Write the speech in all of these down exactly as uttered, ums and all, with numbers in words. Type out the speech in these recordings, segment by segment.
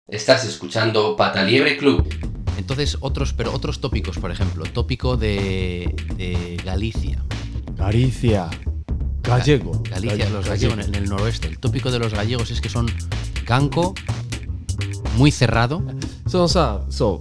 Estás escuchando Pataliebre Club. Entonces, otros, pero otros tópicos, por ejemplo, tópico de, de Galicia. Galicia. Gallego. Galicia, Gallego. los gallegos en el noroeste. El tópico de los gallegos es que son ganco, muy cerrado. そのさ、そう、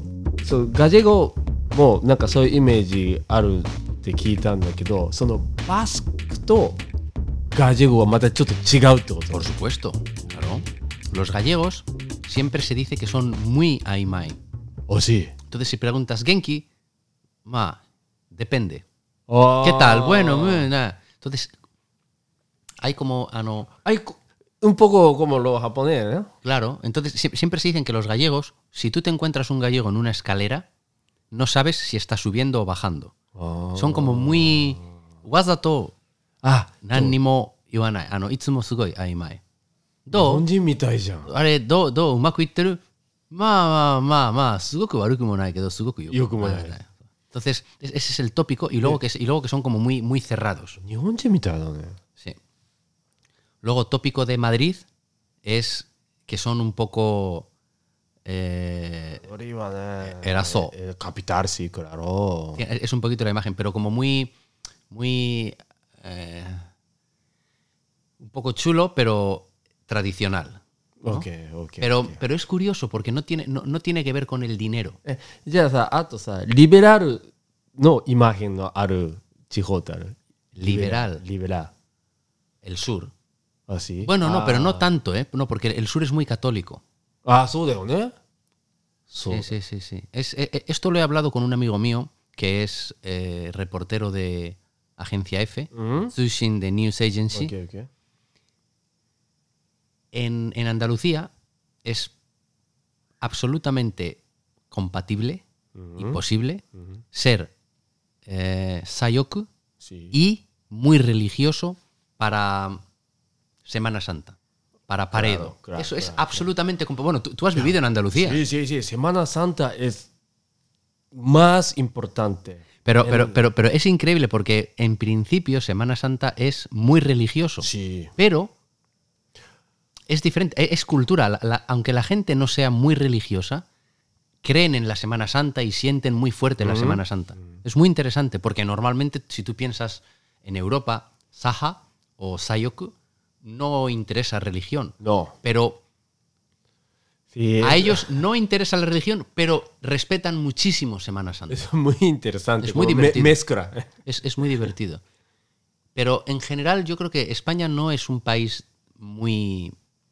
そうガジェゴもなんかそういうイメージあるって聞いたんだけど、そのバスクとガジェゴはまたちょっと違うってこと？ Por supuesto, claro. Los gallegos siempre se dice que son muy aimai. ¿O sí? Entonces, si preguntas Genki, ma, depende. Oh. ¿Qué tal? Bueno, muy, nada. Entonces, hay como, ah, no. Hay un poco como los japoneses, ¿no? Claro, entonces siempre se dicen que los gallegos, si tú te encuentras un gallego en una escalera, no sabes si está subiendo o bajando. Oh. Son como muy wazato. Ah, nanimo iwanai. Ano, itsumo sugoi aimai. Do? 日本人みたいじゃん。 あれ、どう、どう、うまくいってる？まあまあまあまあ、すごく悪くもないけど、すごくよくもない。Entonces, ese es el tópico y luego que, y luego que son como muy, muy cerrados. 日本人みたいだね。 Sí. Luego, tópico de Madrid es que son un poco... Eh, erazo. Capital, sí, claro. Es un poquito la imagen, pero como muy... muy eh, un poco chulo, pero tradicional. ¿no? Okay, okay, pero, okay. pero es curioso porque no tiene, no, no tiene que ver con el dinero. え、じゃあさ、あとさ、リベラルのイマジンのある地方ってある？ Liberal. Liberal. El sur. ¿Ah, sí? Bueno, no, ah. pero no tanto, ¿eh? No, porque el sur es muy católico. Ah, そうだよね。 Sí, sí, sí, sí. Es, eh, esto lo he hablado con un amigo mío que es eh, reportero de Agencia F, ¿Mm? Zushin de News Agency. Okay, okay. En, en Andalucía es absolutamente compatible uh-huh. y posible uh-huh. ser eh, sayoku sí. y muy religioso para Semana Santa, para Paredo. Claro, claro, Eso es claro, absolutamente compatible. Bueno, tú, tú has vivido en Andalucía. Sí, sí, sí. Semana Santa es más importante. Pero, en... pero, pero, pero es increíble porque en principio Semana Santa es muy religioso. Sí. Pero es diferente, es cultura. La, la, aunque la gente no sea muy religiosa, creen en la Semana Santa y sienten muy fuerte la mm-hmm. Semana Santa. Mm-hmm. Es muy interesante porque normalmente si tú piensas en Europa, Saha o Sayoku no interesa religión. No. Pero sí, a ellos no interesa la religión, pero respetan muchísimo Semana Santa. Es muy interesante. Es muy divertido. Me- mezcla. Es, es muy divertido. Pero en general yo creo que España no es un país muy...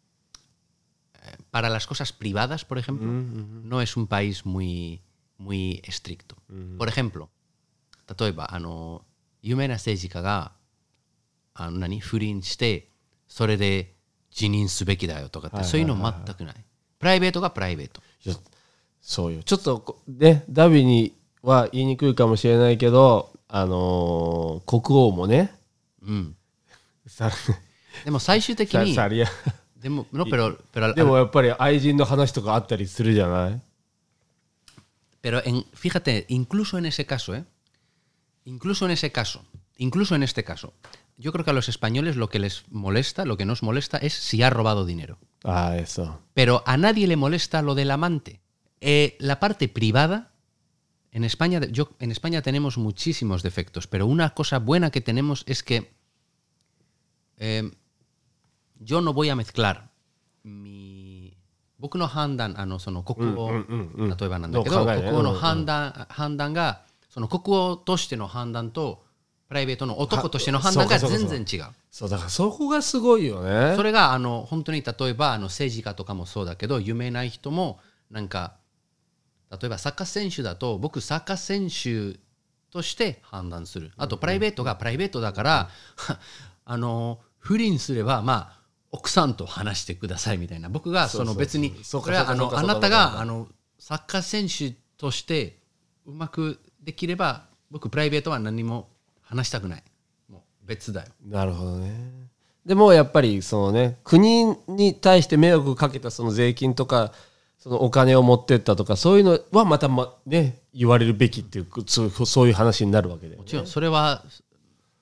Para las cosas privadas, por ejemplo, mm-hmm. no es un país muy, muy estricto. Mm-hmm. Por ejemplo, 例えば、あの、有名な政治家が、あの、何、不倫して、それで辞任すべきだよとかって、そういうの全くない。プライベートがプライベート。 そうよ。ちょっとね、ダビには言いにくいかもしれないけど、あのー、国王もね。 うん。でも最終的に。でも, no, pero, pero, でもやっぱり愛人の話とかあったりするじゃない? Pero en, fíjate, incluso en ese caso, ¿eh? Incluso en ese caso, incluso en este caso, yo creo que a los españoles lo que les molesta, lo que nos molesta es si ha robado dinero. Ah, eso. Pero a nadie le molesta lo del amante. Eh, la parte privada, en España, yo, en España tenemos muchísimos defectos, pero una cosa buena que tenemos es que eh, yo no voy a mezclar mi... 僕の判断、あの、その国王、例えばなんだけど、国王の判断、判断が、その国王としての判断と、プライベートの男としての判断が全然違う。 そう、だからそこがすごいよね。 それが、あの、本当に例えば、あの、政治家とかもそうだけど、有名な人も、なんか、例えばサッカー選手だと、僕サッカー選手として判断する。あと、プライベートがプライベートだから、あの、不倫すれば、まあ、奥さんと話してくださいみたいな。僕がその別にこれはあのあなたがあのサッカー選手としてうまくできれば僕プライベートは何も話したくない。もう別だよ。 なるほどね。でもやっぱりそのね、国に対して迷惑かけたその税金とかそのお金を持ってったとかそういうのはまたまね言われるべきっていうそうそういう話になるわけで、ね。 もちろんそれは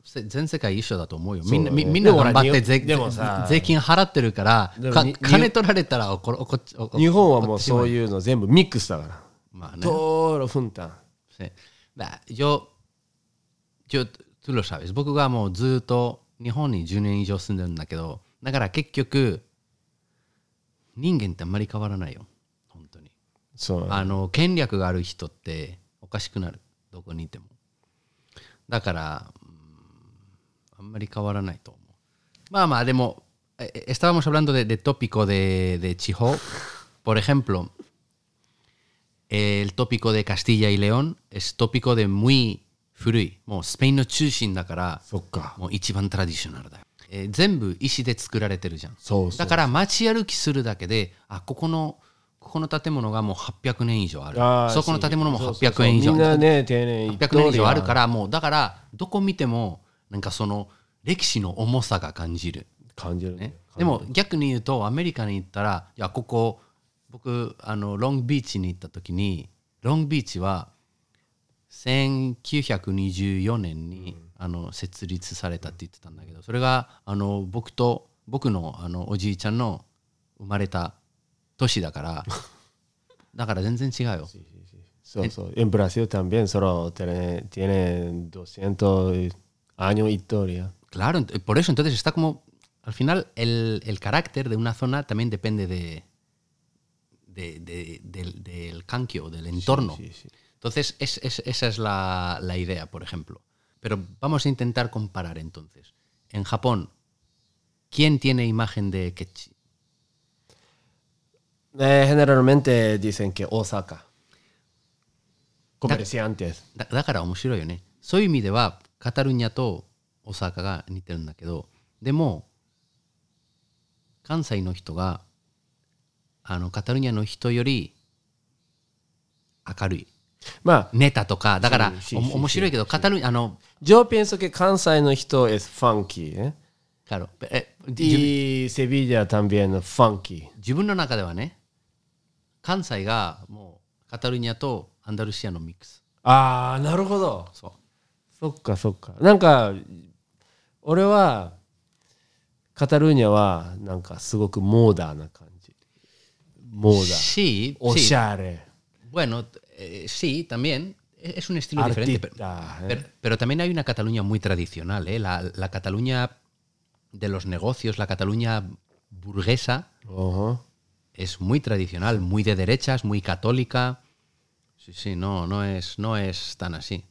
せ全世界一緒だと思うよ。 そうだねみんな、みみんな頑張ってで税でもさ税金払ってるから、かでもに金取られたら怒怒怒日本はもうそうう。 いうの全部ミックスだから。 まあね。 todo lo juntan. Sí. Bah, yo, yo, tú lo sabes. 僕がもうずっと日本にじゅうねん以上住んでるんだけど、だから結局、人間ってあんまり変わらないよ。本当に。 そう。 あの、権力がある人っておかしくなる。どこにいても。だから、うんあんまり変わらないと思う。まあまあ、でも、eh, estábamos hablando de, de tópico de, de Chiho. Por ejemplo, el tópico de Castilla y León es tópico de muy 古い。もうスペインの中心だから、 そっか。 もう一番トラディショナルだよ。えー全部石で作られてるじゃん。 そうそう。 だから街歩きするだけで、あ、ここの、ここの建物がもうはっぴゃくねん以上ある。 あーそこの建物もそうそうはっぴゃくねん以上みんなね、丁寧にはっぴゃくねん以上あるから、もうだからどこ見てもなんかその歴史の重さが感じる、 感じるねね。、 でも逆に言うとアメリカに行ったら、いやここ僕あのロングビーチに行った時に、ロングビーチはせんきゅうひゃくにじゅうよねんに、あの設立されたって言ってたんだけど、それがあの僕と僕のあのおじいちゃんの生まれた年だからだから全然違うよ。 そうそう。En Brasil también solo tiene, tiene doscientos años historia. Claro, ent- por eso entonces está como, al final el, el carácter de una zona también depende de, de- de- del, del kankyo, del entorno. Sí, sí. Entonces es- es- esa es la, la idea, por ejemplo. Pero vamos a intentar comparar entonces. En Japón, ¿quién tiene imagen de Kechi? Eh, generalmente dicen que Osaka. Comerciantes. だだから面白いよね。そういう意味ではカタルニャと大阪が似てるんだけど、でも関西の人があのカタルニャの人より明るい。 まあ、 ネタとかだから sí, sí, お sí, 面白いけど、カタルニャあの yo pienso que Kansai no hito es funky, ¿eh? claro, えじ Y Sevilla también es funky. 自分の中ではね、関西がもうカタルニャとアンダルシアのミックス。 ああ、なるほど。 そう。 そっかそっか。なんか、俺は、カタルーニャは、なんかすごくモーダーな感じ。モーダー。 Sí, お sí. しゃれ。 Bueno, eh, sí, también es un estilo diferente. Pero, Artista, ¿eh? pero, pero también hay una Cataluña muy tradicional, ¿eh? La, la Cataluña de los negocios, la Cataluña burguesa, Ajá. es muy tradicional, muy de derechas, muy católica. Sí, sí, no, no es, no es tan así.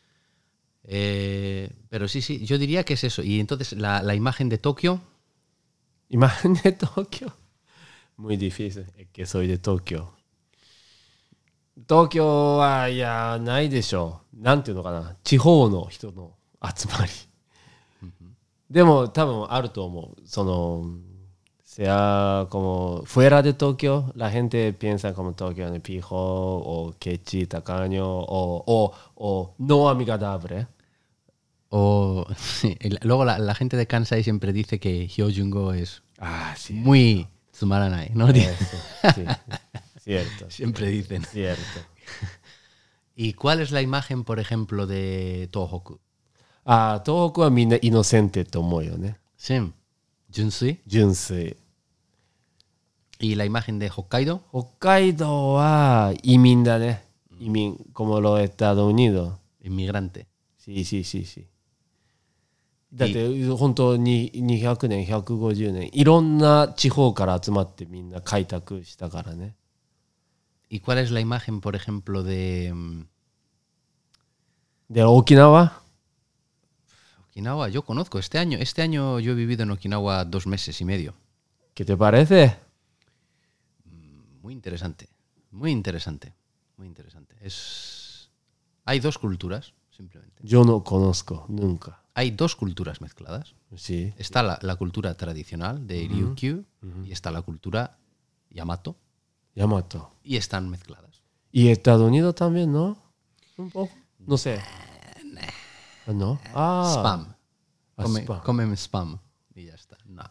Eh, pero sí, sí, yo diría que es eso. Y entonces la, la imagen de Tokio, Imagen de Tokio. Muy difícil. Es que soy de Tokio. 東京はいやないでしょう。なんていうのかな。地方の人の集まり。でも多分あると思う。その、sea como fuera de Tokio, la gente piensa como Tokio en pijo o quechi, tacaño o, o, o no amigable. o sí, y luego la, la gente de Kansai siempre dice que Hyojungo es Ah, sí. muy tsumaranai, ¿no? Eso, sí. Cierto. Siempre dicen. Cierto. ¿Y cuál es la imagen, por ejemplo, de Tohoku? ああ、東北はみんなイノセンテと思うよね。 Sí, Junsui. 純粋。 ¿Y la imagen de Hokkaido? 北海道は移民だね。移民、como los Estados Unidos. Inmigrante. Sí, sí, sí, sí. だって本当ににひゃくねん、ひゃくごじゅうねん、いろんな地方から集まってみんな開拓したからね。 ¿Y cuál es la imagen, por ejemplo, de mm, で、沖縄 Okinawa? Yo conozco este año. Este año yo he vivido en Okinawa dos meses y medio. ¿Qué te parece? Muy interesante. Muy interesante. Muy interesante. Es... Hay dos culturas, simplemente. Yo no conozco, nunca. Hay dos culturas mezcladas. Sí. Está la, la cultura tradicional de Ryukyu y está la cultura Yamato Yamato. y están mezcladas. Y Estados Unidos también, ¿no? Un poco. No sé. Ah, ¿no? Ah. Spam. Ah, Come- spam. Comen spam y ya está. No.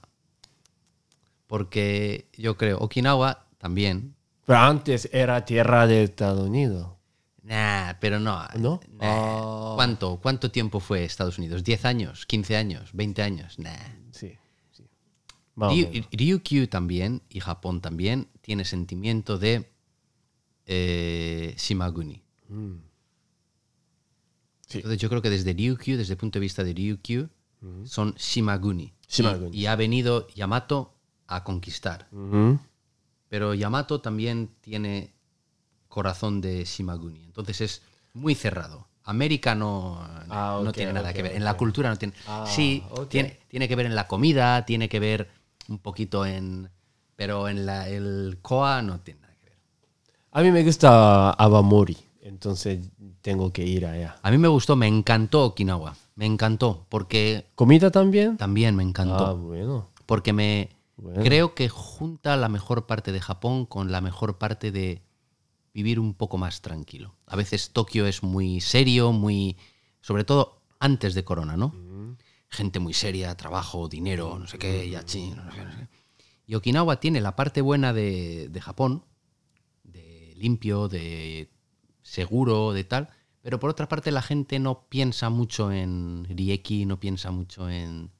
Porque yo creo, Okinawa también. Pero antes era tierra de Estados Unidos. Nah, pero no. ¿No? Nah. Ah. ¿Cuánto, ¿Cuánto tiempo fue Estados Unidos? ¿diez años? ¿quince años? ¿veinte años? Nah. Sí, sí. Más o Ryu- menos. Ryukyu también, y Japón también, tiene sentimiento de eh, Shimaguni. Mm. Sí. Entonces yo creo que desde Ryukyu, desde el punto de vista de Ryukyu, son Shimaguni. Shimaguni. Y, y ha venido Yamato a conquistar. Ujú. Pero Yamato también tiene corazón de Shimaguni. Entonces es muy cerrado. América no, Ah, no ok, tiene nada ok, que ver. ok. En la cultura no tiene. Ah, sí, ok. tiene, tiene que ver en la comida, tiene que ver un poquito en. Pero en la, el Koa no tiene nada que ver. A mí me gusta Awamori, entonces tengo que ir allá. A mí me gustó, me encantó Okinawa. Me encantó, porque ¿Comida también? también me encantó. Ah, bueno. Porque me Bueno. creo que junta la mejor parte de Japón con la mejor parte de vivir un poco más tranquilo. A veces Tokio es muy serio, muy, sobre todo antes de Corona, ¿no? Gente muy seria, trabajo, dinero, no sé qué, yachi, no sé qué, no sé qué. Y Okinawa tiene la parte buena de, de Japón, de limpio, de seguro, de tal, pero por otra parte la gente no piensa mucho en rieki, no piensa mucho en...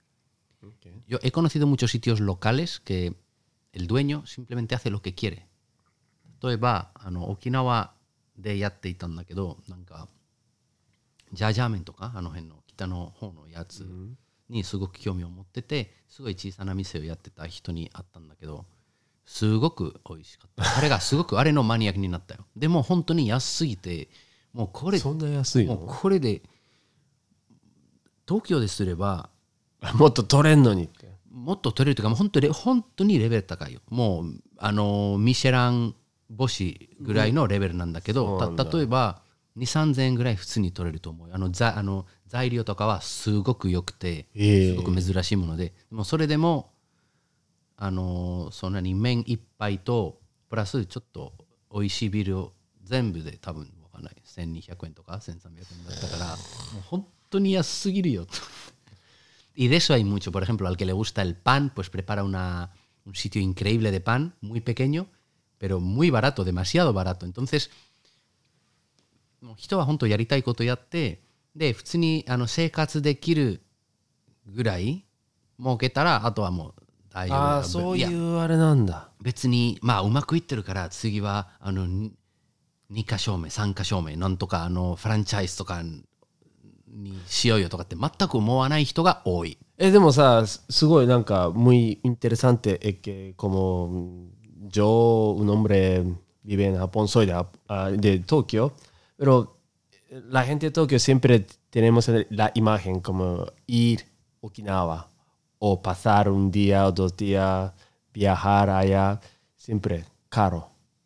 Yo he conocido muchos sitios locales que el dueño simplemente hace lo que quiere. 例えばあの沖縄でやっていたんだけど、なんかジャージャー麺とかあの辺の北の方のやつにすごく興味を持ってて、すごい小さな店をやってた人に会ったんだけど、すごく美味しかった。彼がすごくあれのマニアックになったよ。でも本当に安すぎて、もうこれそんな安いもうの？ これで東京ですればもっと取れんのにって。 もっと取れるというか、もう本当に本当にレベル高いよ。もうあのミシェラン星ぐらいのレベルなんだけど、 そうなんだた例えばにせんさんぜんえんぐらい普通に取れると思うよ。あのざあの材料とかはすごく良くて、 ええすごく珍しいもので、でもそれでもあのそんなに麺一杯とプラスちょっと美味しいビールを全部で多分わかんないせんにひゃくえんとかせんさんびゃくえんだったから、もう本当に安すぎるよと。Y de eso hay mucho. Por ejemplo, al que le gusta el pan, pues prepara una, un sitio increíble de pan, muy pequeño, pero muy barato, demasiado barato. Entonces, もう人は本当やりたいことやって、で、普通にあの生活できるぐらい儲けたら、あとはもう大丈夫だよ。 ああ、そういやうあれなんだ。 別に、まあ、うまくいってるから、次は、あの、ににか証明、さんか証明、なんとか、あの、フランチャイズとかにしようよとかって全く思わない人が多い。 え、でもさ、すすごいなんか、muy interesante es que como yo, un hombre vive en Japón, soy de, Jap- ah, de Tokio, pero la gente de Tokio siempre tenemos la imagen como ir a Okinawa o pasar un día o dos días, viajar allá, siempre caro.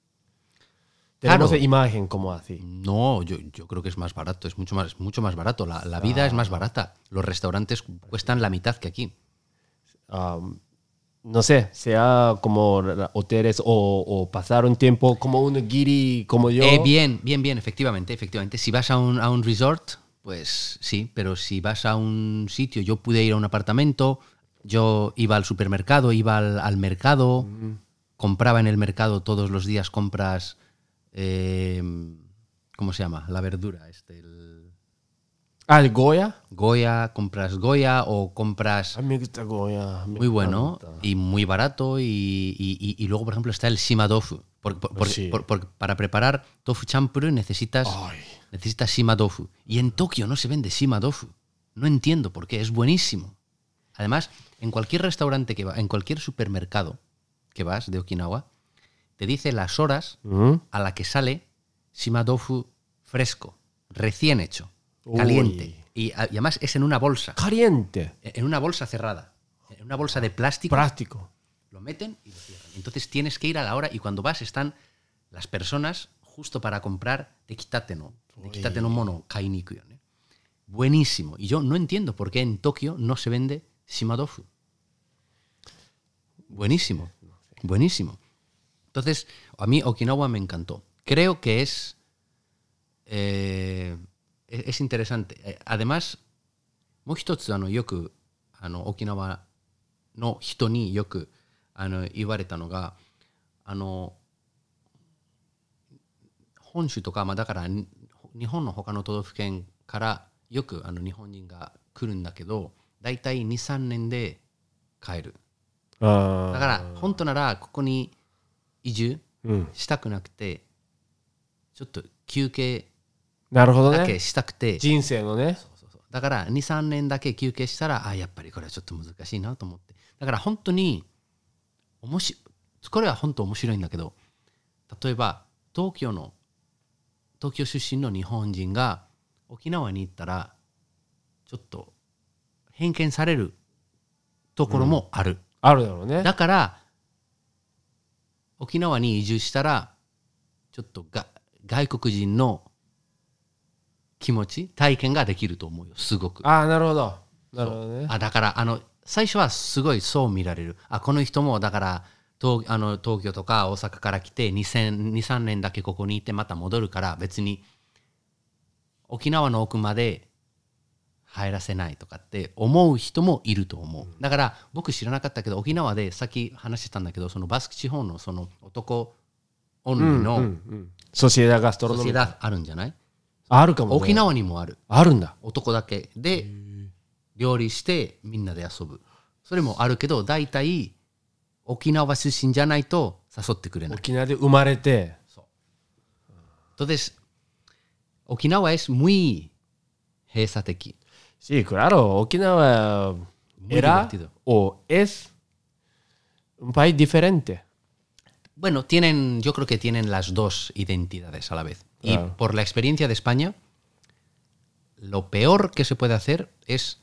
Tenemos Caro. la imagen como así. No, yo, yo creo que es más barato, es mucho más, mucho más barato. La, la vida es más barata. Los restaurantes cuestan la mitad que aquí. Um, no sé, sea como hoteles o, o pasar un tiempo como un guiri como yo. Eh, bien, bien, bien, efectivamente, efectivamente. Si vas a un, a un resort, pues sí, pero si vas a un sitio, yo pude ir a un apartamento, yo iba al supermercado, iba al, al mercado, compraba en el mercado todos los días, compras, eh, ¿cómo se llama? La verdura, este, el Ah, el Goya. Goya, compras Goya o compras... A mí me gusta Goya. me Muy bueno encanta. y muy barato y, y- y- y luego, por ejemplo, está el shima tofu. Por- por- por- Sí. por- por- para preparar tofu champuru necesitas, Ay. necesitas shima tofu. Y en Tokio no se vende shima tofu. No entiendo por qué, es buenísimo. Además, en cualquier restaurante que va, en cualquier supermercado que vas de Okinawa, te dice las horas Ujú. a la que sale shima tofu fresco, recién hecho, Uy. caliente. Y, a- y además es en una bolsa. Caliente. En una bolsa cerrada, en una bolsa de plástico, Práctico. lo meten y lo cierran. Entonces tienes que ir a la hora y cuando vas están las personas justo para comprar tekitate no, tekitate no mono kainiku, ¿no? Buenísimo. Y yo no entiendo por qué en Tokio no se vende shima tofu. Buenísimo, buenísimo. Entonces, a mí Okinawa me encantó. Creo que es eh, es es interesante. Eh, Además, もう一つあのよくあの沖縄の人によくあの言われたのが、あの本州とか、まあ、だからに日本の他の都道府県からよくあの日本人が来るんだけど、だいたいにさんねんで帰る。 あだから本当ならここに移住うんしたくなくて、ちょっと休憩なるほどだけね。 したくて、 人生のね。 そうそうそうだからにさんねんだけ休憩したら、あやっぱりこれはちょっと難しいなと思って、だから本当に面白い、これは本当面白いんだけど、例えば東京の東京出身の日本人が沖縄に行ったらちょっと偏見されるところもある、 あるだろうね。 だから沖縄に移住したらちょっとが外国人の気持ち体験ができると思うよ、すごく。 ああ、なるほど。なるほどね。 あだからあの最初はすごいそう見られる。あこの人もだから東あの東京とか大阪から来てにせんにさんねんだけここにいてまた戻るから別に沖縄の奥まで入らせないとかって思う人もいると思う。だから僕知らなかったけど、沖縄でさっき話してたんだけど、そのバスク地方のその男オンリーうんうんのうんソシエダガストロノミー。 ソシエダあるんじゃない？ あるかもね。 沖縄にもある。 あるんだ。 男だけで料理してみんなで遊ぶ。それもあるけど、大体沖縄出身じゃないと誘ってくれない。 沖縄で生まれて。 Entonces, Okinawa es muy 閉鎖的。 Sí, claro. Okinawa Muy era divertido. o es un país diferente. Bueno, tienen, yo creo que tienen las dos identidades a la vez. Y Claro. por la experiencia de España, lo peor que se puede hacer es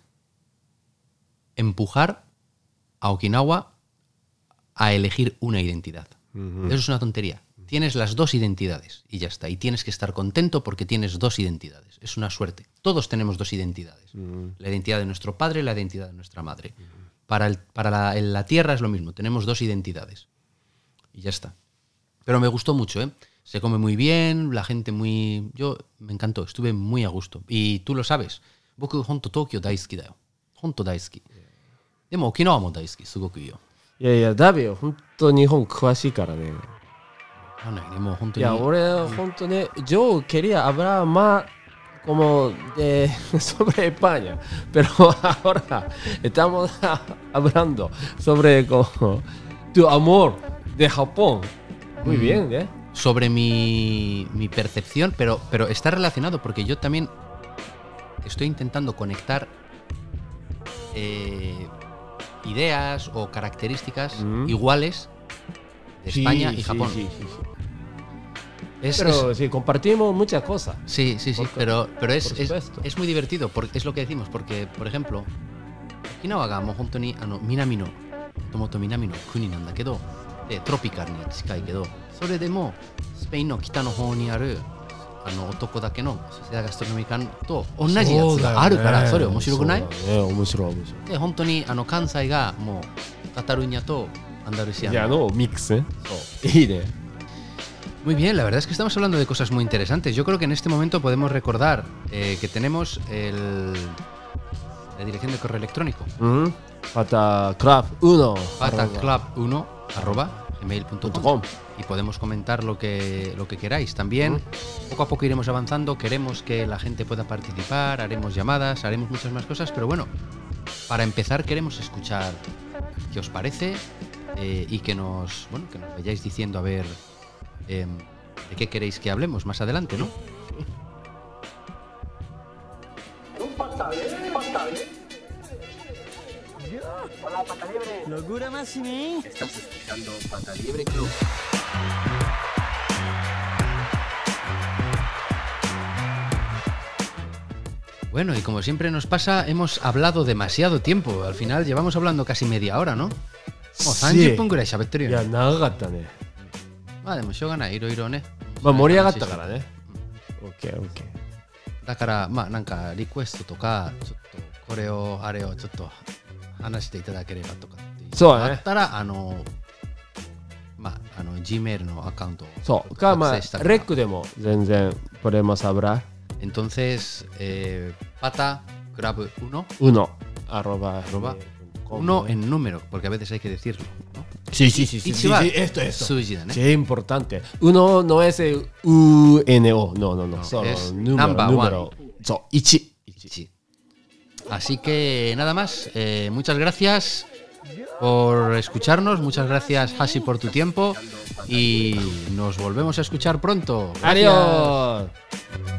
empujar a Okinawa a elegir una identidad. Eso es una tontería. Tienes las dos identidades y ya está. Y tienes que estar contento porque tienes dos identidades. Es una suerte. Todos tenemos dos identidades. La identidad de nuestro padre y la identidad de nuestra madre. Para, el, para la, en la tierra es lo mismo. Tenemos dos identidades. Y ya está. Pero me gustó mucho, ¿eh? Se come muy bien, la gente muy... Yo me encantó, estuve muy a gusto. Y tú lo sabes. Boku honto Tokio daisuki da yo. Honto daisuki. Demo Okinawa mo daisuki, sugoku iyo. いやいや、ダビよ、本当日本詳しいからね。 もう本当に。 いや、俺、本当ね、yo quería hablar más como de sobre España, pero ahora estamos hablando sobre como tu amor de Japón. Muy bien, ¿eh? Sobre mi, mi percepción, pero, pero está relacionado porque yo también estoy intentando conectar eh, ideas o características Mm. iguales de España Sí, y sí, Japón. sí, sí, sí. Es- Pero es- sí, compartimos muchas cosas. sí, sí, sí, por- pero, pero es, por es, supuesto. es muy divertido, porque es lo que decimos, porque, por ejemplo, Okinawa ga mo hontou ni ano Minami no Tomoto Minami no kuniなんだけど、でトロピカルに近いけど、それでもスペインの北の方にあるあの男だけのソシエダガストロミカンと同じやつがあるから、それ面白くない？ そうだね、面白い面白で本当にあの関西がもうカタルーニャとアンダルシい。 アいや、 の。 のミックスね。いいね。 Muy bien, la verdad es que estamos hablando de cosas muy interesantes. Yo creo que en este momento podemos recordar eh, que tenemos el, la dirección de correo electrónico. うん。また、クラブ、ウノ。 pataclub uno arroba gmail punto com com. y podemos comentar lo que, lo que queráis. También poco a poco iremos avanzando, queremos que la gente pueda participar, haremos llamadas, haremos muchas más cosas, pero bueno, para empezar queremos escuchar qué os parece eh, y que nos, bueno, que nos vayáis diciendo a ver eh, de qué queréis que hablemos más adelante, ¿no? Locura máxima. Estás escuchando Pata Liebre Club. Bueno, y como siempre nos pasa, hemos hablado demasiado tiempo. Al final llevamos hablando casi media hora, ¿no? Como Sí. さんじゅっぷんぐらい喋ってるいや、 よね。 長かったね。 まあでもしょうがない、いろいろね。 まあ、盛り上がったからね。オッケー、オッケー。 だからまあなんかリクエストとかちょっとこれをあれをちょっと話していただければとかっていうそうだねあったらあのまああの Gmail のアカウントをそう。か、まあ、 作成したからレックでも全然、podemos hablar. Entonces eh, pata club uno uno arroba Arroba com, uno ¿no? en número porque a veces hay que decirlo, ¿no? Sí, sí, sí, sí, sí, Ichiwa. sí, esto, esto. 数字だね。 Sí, importante. Uno no es el U N O. No, no, no. Solo es número, number número. So, ichi. Sí. Así que nada más. eh, muchas gracias por escucharnos. Muchas gracias, Hashi, por tu tiempo. Y nos volvemos a escuchar pronto. Gracias. Adiós.